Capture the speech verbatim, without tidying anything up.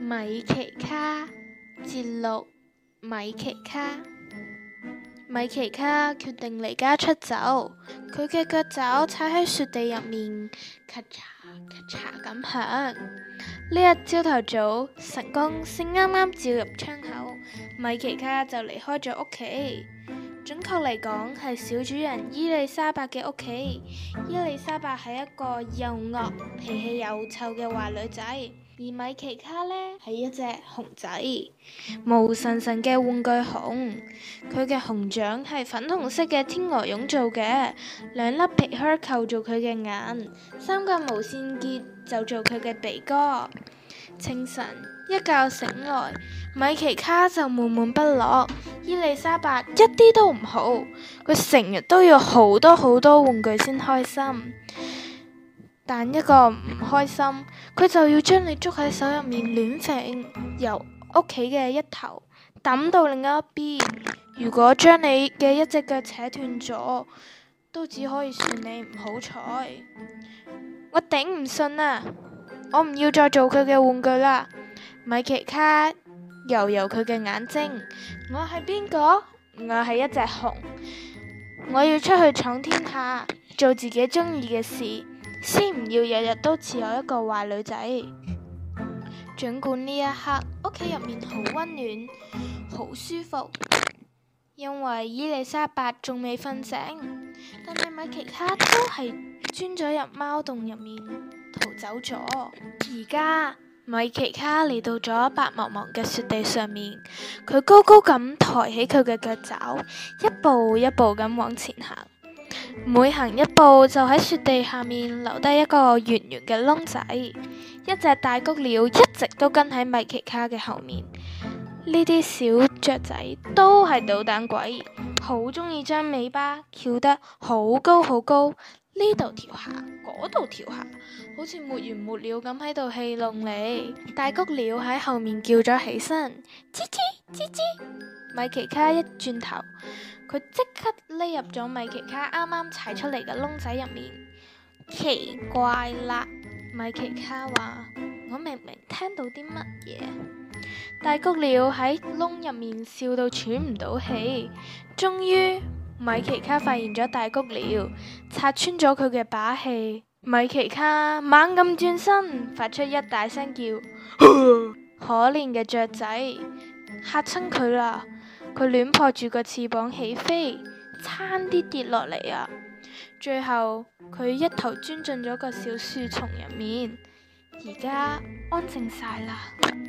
米奇卡節錄。米奇卡米奇卡決定離家出走，佢嘅腳爪踩喺雪地入面，咔嚓咔嚓咁響。呢日朝頭早，晨光先啱啱照入窗口，米奇卡就離開咗屋企。準確嚟講，係小主人伊麗莎白嘅屋企。伊麗莎白係一個又惡、脾氣又臭嘅壞女仔，而米奇卡呢，係一隻熊仔，毛神神嘅玩具熊。佢嘅熊掌係粉紅色嘅天鵝絨做嘅，兩粒皮靴扣住佢嘅眼，三個毛線結就做佢嘅鼻哥。清晨一覺醒來，米奇卡就悶悶不樂。伊麗莎白一啲都唔好，佢成日都要好多好多玩具先開心。但一個唔開心，佢就要將你捉喺手入面亂揈，由屋企嘅一頭抌到另一邊。如果將你嘅一隻腳扯斷咗，都只可以算你唔好彩。我頂唔順啊！我唔要再做佢嘅玩具啦。米奇卡揉揉佢嘅眼睛，我係邊個？我係一隻熊，我要出去闖天下，做自己中意嘅事，先唔要日日都似我一個壞女仔。盡管呢一刻屋企入面好溫暖，好舒服，因為伊麗莎白仲未瞓醒，但係米奇卡都係鑽咗入貓洞入面逃走咗。而家米奇卡嚟到咗白茫茫嘅雪地上面，佢高高咁抬起佢嘅腳爪，一步一步咁往前行。每行一步就喺雪地下面留低一個圓圓嘅窿仔。一隻大谷鳥一直都跟喺米奇卡嘅後面。呢啲小雀仔都係搗蛋鬼，好鍾意將尾巴翹得好高好高，呢度跳下，嗰度跳下，好似沒完沒了咁喺度戲弄你。大谷鳥喺後面叫咗起身，吱吱吱吱。米奇卡一轉頭，佢即刻匿入咗米奇卡啱啱踩出嚟嘅窿仔入面。奇怪啦，米奇卡話：我明明聽到啲乜嘢？大谷鳥喺窿入面笑到喘唔到氣。終於，米奇卡發現咗大谷鳥，拆穿咗佢嘅把戲。米奇卡猛咁轉身，發出一大聲叫。可憐嘅雀仔嚇親佢啦，佢亂撲住個翅膀起飛，差啲跌落嚟啊！最後佢一頭鑽進咗個小樹叢入面，而家安靜晒啦。